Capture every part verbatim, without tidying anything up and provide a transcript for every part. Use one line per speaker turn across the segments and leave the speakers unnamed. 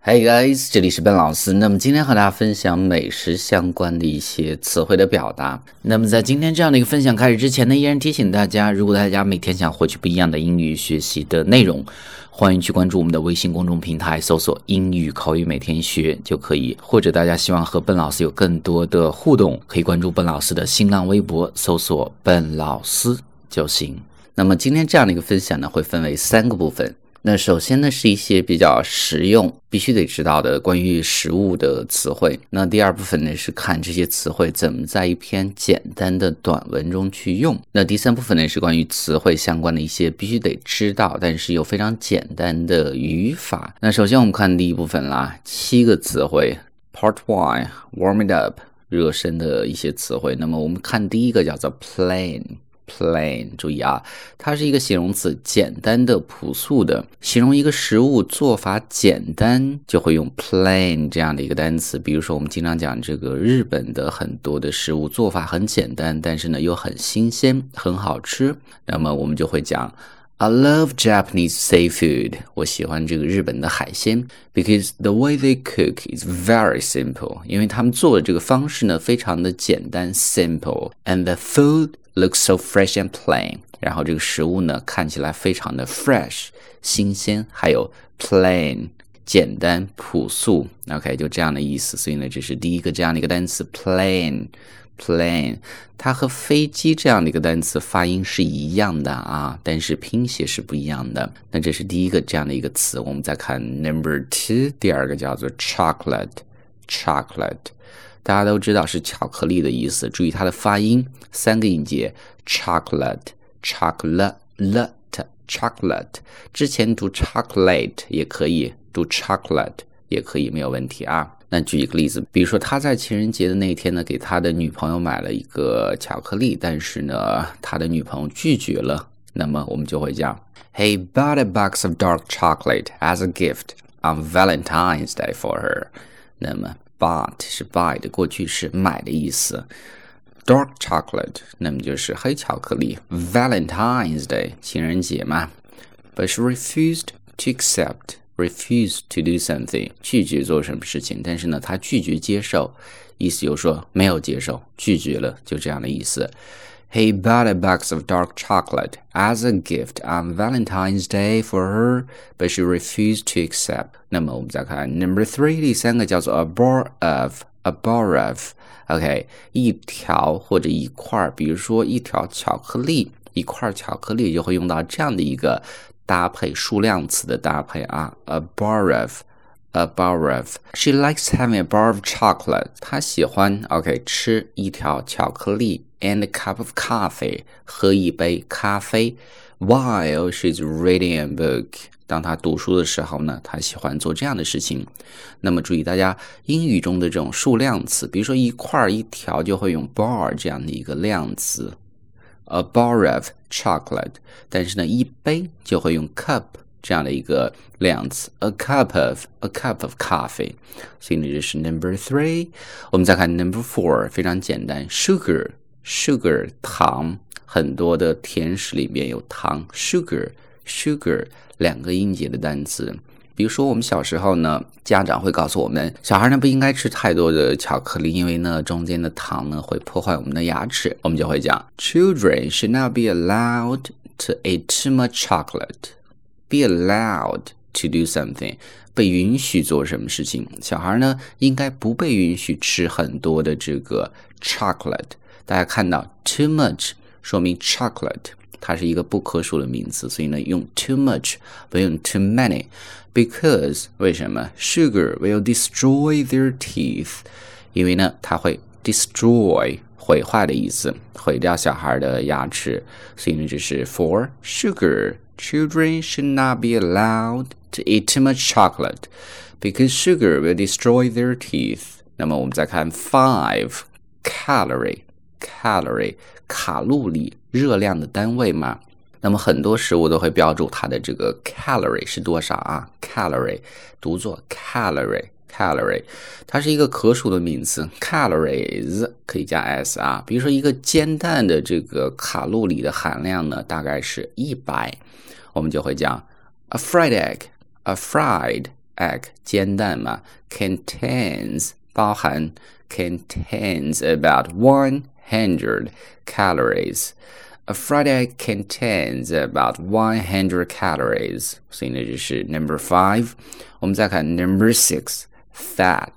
Hey guys， 这里是笨老师。那么今天和大家分享美食相关的一些词汇的表达。那么在今天这样的一个分享开始之前呢，依然提醒大家，如果大家每天想获取不一样的英语学习的内容，欢迎去关注我们的微信公众平台，搜索英语口语每天学就可以。或者大家希望和笨老师有更多的互动，可以关注笨老师的新浪微博，搜索笨老师就行。那么今天这样的一个分享呢，会分为三个部分。那首先呢，是一些比较实用必须得知道的关于食物的词汇。那第二部分呢，是看这些词汇怎么在一篇简单的短文中去用。那第三部分呢，是关于词汇相关的一些必须得知道但是又非常简单的语法。那首先我们看第一部分啦，七个词汇 Part one Warm it up 热身的一些词汇。那么我们看第一个叫做 plain plain， 注意啊，它是一个形容词，简单的、朴素的，形容一个食物做法简单，就会用 plain 这样的一个单词。比如说我们经常讲这个日本的很多的食物做法很简单，但是呢又很新鲜，很好吃，那么我们就会讲I love Japanese seafood. 我喜欢这个日本的海鲜 because the way they cook is very simple. 因为他们做的这个方式呢非常的简单 simple and the food looks so fresh and plain. 然后这个食物呢看起来非常的 fresh 新鲜，还有 plain 简单朴素 OK 就这样的意思。所以呢这是第一个这样的一个单词 plain plain， 它和飞机这样的一个单词发音是一样的啊，但是拼写是不一样的。那这是第一个这样的一个词。我们再看 number two， 第二个叫做 chocolate chocolate， 大家都知道是巧克力的意思，注意它的发音，三个音节 chocolate chocolate chocolate， 之前读 chocolate 也可以，读 chocolate 也可以，没有问题啊。那举一个例子，比如说他在情人节的那天呢，给他的女朋友买了一个巧克力，但是呢他的女朋友拒绝了，那么我们就会讲 He bought a box of dark chocolate as a gift on Valentine's Day for her。 那么 bought 是 buy 的过去式，买的意思， dark chocolate 那么就是黑巧克力， Valentine's Day 情人节嘛， But she refused to accept refuse to do something， 拒绝做什么事情，但是呢他拒绝接受，意思就是说没有接受，拒绝了，就这样的意思。 He bought a box of dark chocolate as a gift on Valentine's Day for her, but she refused to accept。 那么我们再看 number three， 第三个叫做 a bar of a bar of OK 一条或者一块，比如说一条巧克力，一块巧克力就会用到这样的一个搭配，数量词的搭配啊 a bar of a bar of She likes having a bar of chocolate， 她喜欢 OK 吃一条巧克力 and a cup of coffee， 喝一杯咖啡 while she's reading a book， 当她读书的时候呢，她喜欢做这样的事情。那么注意大家英语中的这种数量词，比如说一块一条就会用 bar 这样的一个量词A bar of chocolate， 但是呢一杯就会用 cup 这样的一个量词 a cup of a cup of coffee。 所以呢这是 number three。 我们再看 number four， 非常简单 sugar sugar 糖，很多的甜食里面有糖 sugar sugar 两个音节的单词。比如说我们小时候呢，家长会告诉我们，小孩呢不应该吃太多的巧克力，因为呢中间的糖呢会破坏我们的牙齿。我们就会讲 Children should not be allowed to eat too much chocolate. Be allowed to do something， 被允许做什么事情。小孩呢应该不被允许吃很多的这个 chocolate。 大家看到 too much 说明 chocolate它是一个不可数的名词，所以呢用 too much 不用 too many， because 为什么 sugar will destroy their teeth， 因为呢它会 destroy 毁坏的意思，毁掉小孩的牙齿。所以呢这是 for sugar children should not be allowed to eat too much chocolate because sugar will destroy their teeth。 那么我们再看 five calorie calorie 卡路里热量的单位嘛，那么很多食物都会标注它的这个 calorie 是多少啊， calorie 读作 calorie calorie 它是一个可数的名词， calories 可以加 s 啊，比如说一个煎蛋的这个卡路里的含量呢大概是一百，我们就会讲 a fried egg a fried egg 煎蛋嘛 contains 包含 contains about one hundred calories. A fried egg contains about one hundred calories. 所以呢这是 number five. 我们再看 number six, fat,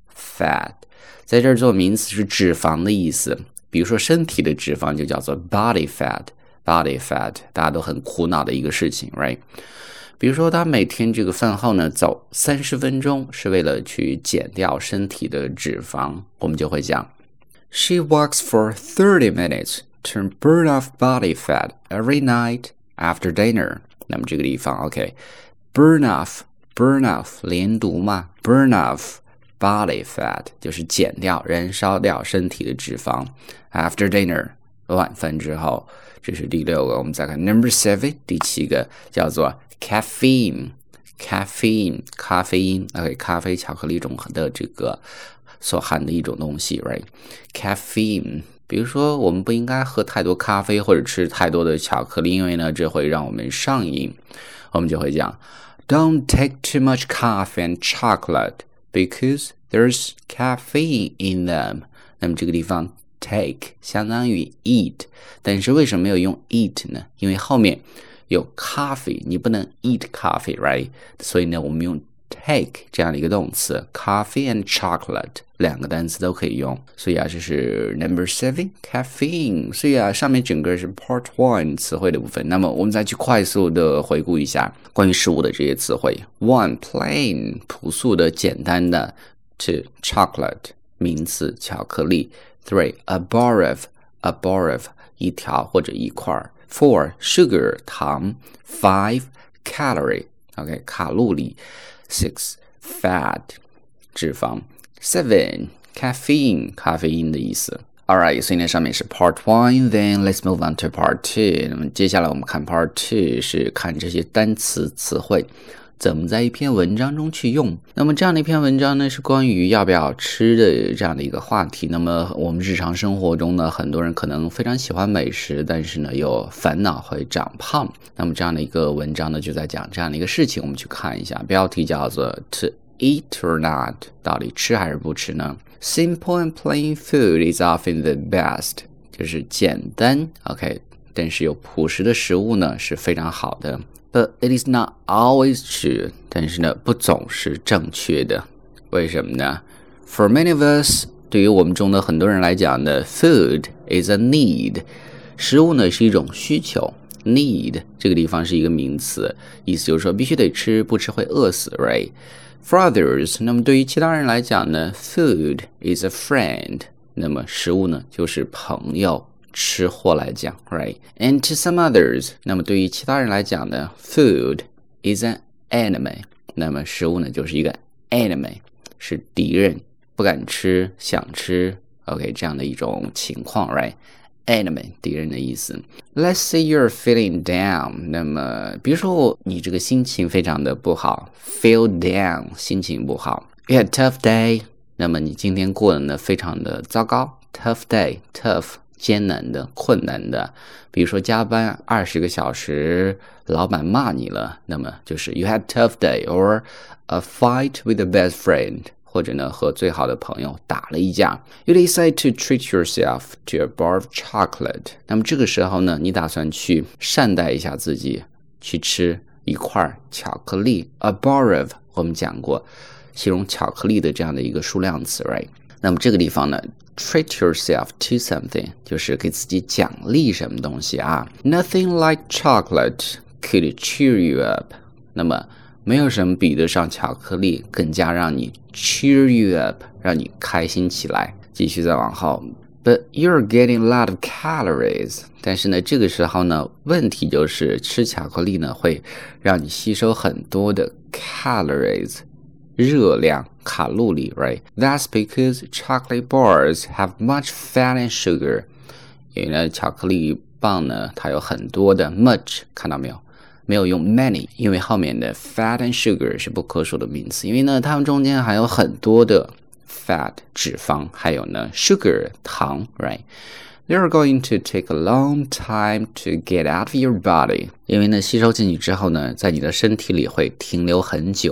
fat. 在这儿做名词是脂肪的意思，比如说身体的脂肪就叫做 body fat, body fat. 大家都很苦恼的一个事情 right?比如说他每天这个饭后呢走三十分钟是为了去减掉身体的脂肪，我们就会讲 She walks for thirty minutes to burn off body fat every night after dinner. 那么这个地方 OK burn off burn off 连读嘛 burn off body fat 就是减掉燃烧掉身体的脂肪 after dinner 晚饭之后，这是第六个。我们再看 number seven 第七个叫做Caffeine, caffeine, 咖啡因 OK 咖啡巧克力中的这个所含的一种东西 right Caffeine 比如说我们不应该喝太多咖啡或者吃太多的巧克力，因为呢这会让我们上瘾，我们就会讲 Don't take too much coffee and chocolate because there's caffeine in them. 那么这个地方 take 相当于 eat， 但是为什么没有用 eat 呢？因为后面有 coffee 你不能 eat coffee right 所以呢我们用 take 这样的一个动词 coffee and chocolate 两个单词都可以用，所以啊这是 number seven caffeine。 所以啊上面整个是 part one 词汇的部分，那么我们再去快速的回顾一下关于食物的这些词汇。 one plain 朴素的简单的 two chocolate 名词巧克力 three a bar of a bar of 一条或者一块four sugar 糖 five calorie OK 卡路里 six fat 脂肪 seven caffeine 咖啡因的意思。 Alright 所以呢上面是 part one then let's move on to part two。 那么接下来我们看 part two 是看这些单词词汇怎么在一篇文章中去用。那么这样的一篇文章呢是关于要不要吃的这样的一个话题。那么我们日常生活中呢很多人可能非常喜欢美食，但是呢有烦恼会长胖，那么这样的一个文章呢就在讲这样的一个事情，我们去看一下。标题叫做 To eat or not 到底吃还是不吃呢？ Simple and plain food is often the best 就是简单 OK 但是有朴实的食物呢是非常好的。But it is not always true 但是呢不总是正确的。为什么呢？ For many of us 对于我们中的很多人来讲呢 Food is a need 食物呢是一种需求 Need 这个地方是一个名词，意思就是说必须得吃，不吃会饿死 right For others 那么对于其他人来讲呢 Food is a friend 那么食物呢就是朋友吃货来讲 right And to some others 那么对于其他人来讲呢 Food is an enemy 那么食物呢就是一个 enemy 是敌人，不敢吃想吃 OK 这样的一种情况 right Enemy 敌人的意思。 Let's say you're feeling down 那么比如说你这个心情非常的不好 Feel down 心情不好 You had a tough day 那么你今天过得呢非常的糟糕 Tough day Tough艰难的困难的，比如说加班二十个小时老板骂你了，那么就是 You had a tough day or a fight with a best friend或者呢和最好的朋友打了一架 You decide to treat yourself to a bar of chocolate 那么这个时候呢你打算去善待一下自己，去吃一块巧克力 A bar of 我们讲过形容巧克力的这样的一个数量词 right 那么这个地方呢 treat yourself to something 就是给自己奖励什么东西啊 Nothing like chocolate could cheer you up 那么没有什么比得上巧克力更加让你 cheer you up 让你开心起来。继续再往后 But you're getting a lot of calories 但是呢这个时候呢问题就是吃巧克力呢会让你吸收很多的 calories 热量卡路里 right That's because chocolate bars have much fat and sugar 因为呢巧克力棒呢它有很多的 much 看到没有没有用 many 因为后面的 fat and sugar 是不可数的名词，因为呢它们中间还有很多的 fat 脂肪还有呢 sugar 糖 right They're going to take a long time to get out of your body 因为呢吸收进去之后呢在你的身体里会停留很久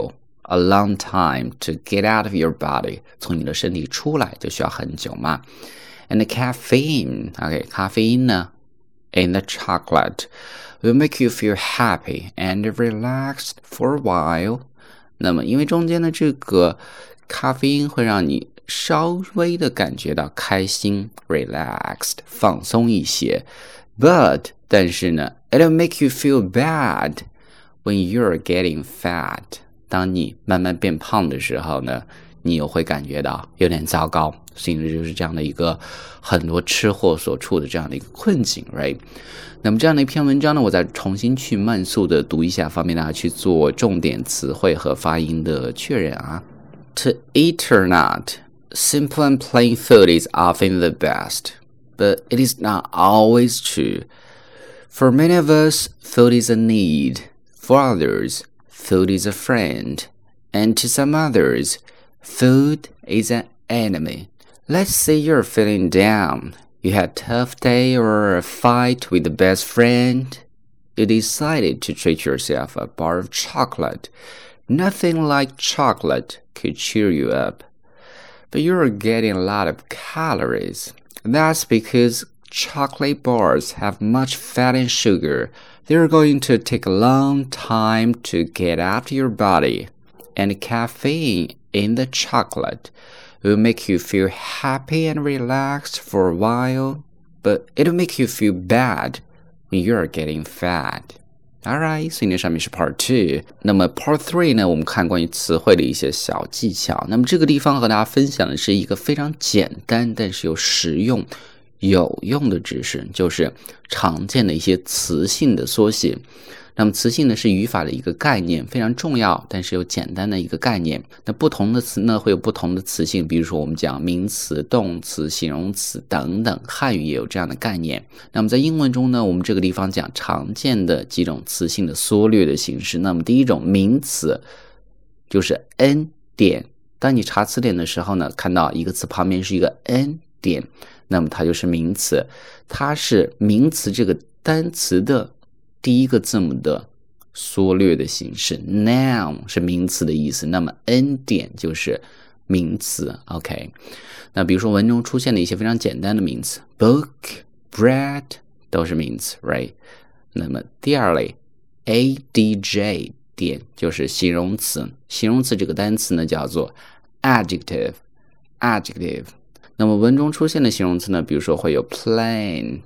a long time to get out of your body. 从你的身体出来就需要很久嘛。And the caffeine, okay, 咖啡因呢 in the chocolate will make you feel happy and relaxed for a while. 那么因为中间的这个咖啡因会让你稍微的感觉到开心 relaxed 放松一些 but 但是呢 it'll make you feel bad when you're getting fat 当你慢慢变胖的时候呢你又会感觉到有点糟糕所以就是这样的一个很多吃货所处的这样的一个困境 right 那么这样的一篇文章呢我再重新去慢速的读一下方便大家去做重点词汇和发音的确认啊 To eat or not Simple and plain food is often the best, but it is not always true. For many of us, food is a need. For others, food is a friend. And to some others, food is an enemy. Let's say you're feeling down. You had a tough day or a fight with the best friend. You decided to treat yourself a bar of chocolate. Nothing like chocolate could cheer you up.But you're getting a lot of calories. That's because chocolate bars have much fat and sugar. They're going to take a long time to get out of your body. And caffeine in the chocolate will make you feel happy and relaxed for a while, but it'll make you feel bad when you're getting fat.Alright, 所以呢上面是 part two 那么 part three 呢我们看关于词汇的一些小技巧那么这个地方和大家分享的是一个非常简单但是又实用有用的知识就是常见的一些词性的缩写那么词性呢是语法的一个概念非常重要但是又简单的一个概念那不同的词呢会有不同的词性比如说我们讲名词动词形容词等等汉语也有这样的概念那么在英文中呢我们这个地方讲常见的几种词性的缩略的形式那么第一种名词就是 N 点当你查词典的时候呢看到一个词旁边是一个 N 点那么它就是名词它是名词这个单词的第一个字母的缩略的形式 noun 是名词的意思那么 N 点就是名词 OK 那比如说文中出现的一些非常简单的名词 book, bread 都是名词 right 那么第二类 A D J 点就是形容词形容词这个单词呢叫做 adjective adjective 那么文中出现的形容词呢比如说会有 plain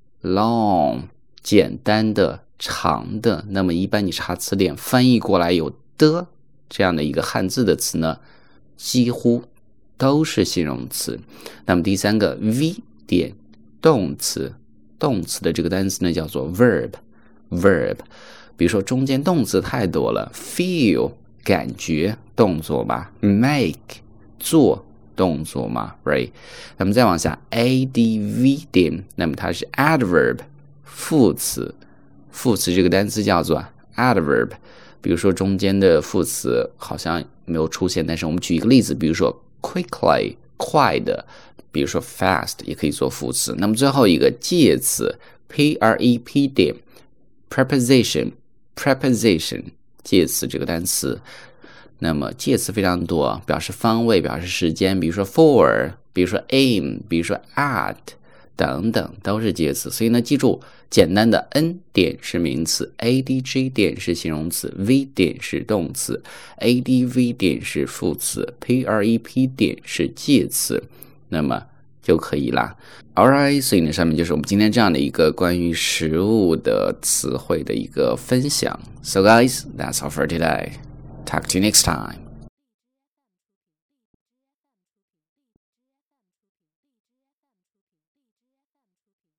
long 简单的长的那么一般你查词典翻译过来有的这样的一个汉字的词呢几乎都是形容词那么第三个 V 点动词动词的这个单词呢叫做 verb verb 比如说中间动词太多了 feel 感觉动作吧 make 做动作嘛 right 那么再往下 adv 点那么它是 adverb 副词副词这个单词叫做 adverb 比如说中间的副词好像没有出现但是我们举一个例子比如说 quickly 快的比如说 fast 也可以做副词那么最后一个介词 prep 点 preposition preposition 介词这个单词那么介词非常多表示方位表示时间比如说 for 比如说 aim 比如说 at 等等都是介词所以呢记住简单的 N 点是名词 adj 点是形容词 V 点是动词 adv 点是副词 prep 点是介词那么就可以啦 Alright 所以呢上面就是我们今天这样的一个关于食物的词汇的一个分享 So guys that's all for today Talk to you next time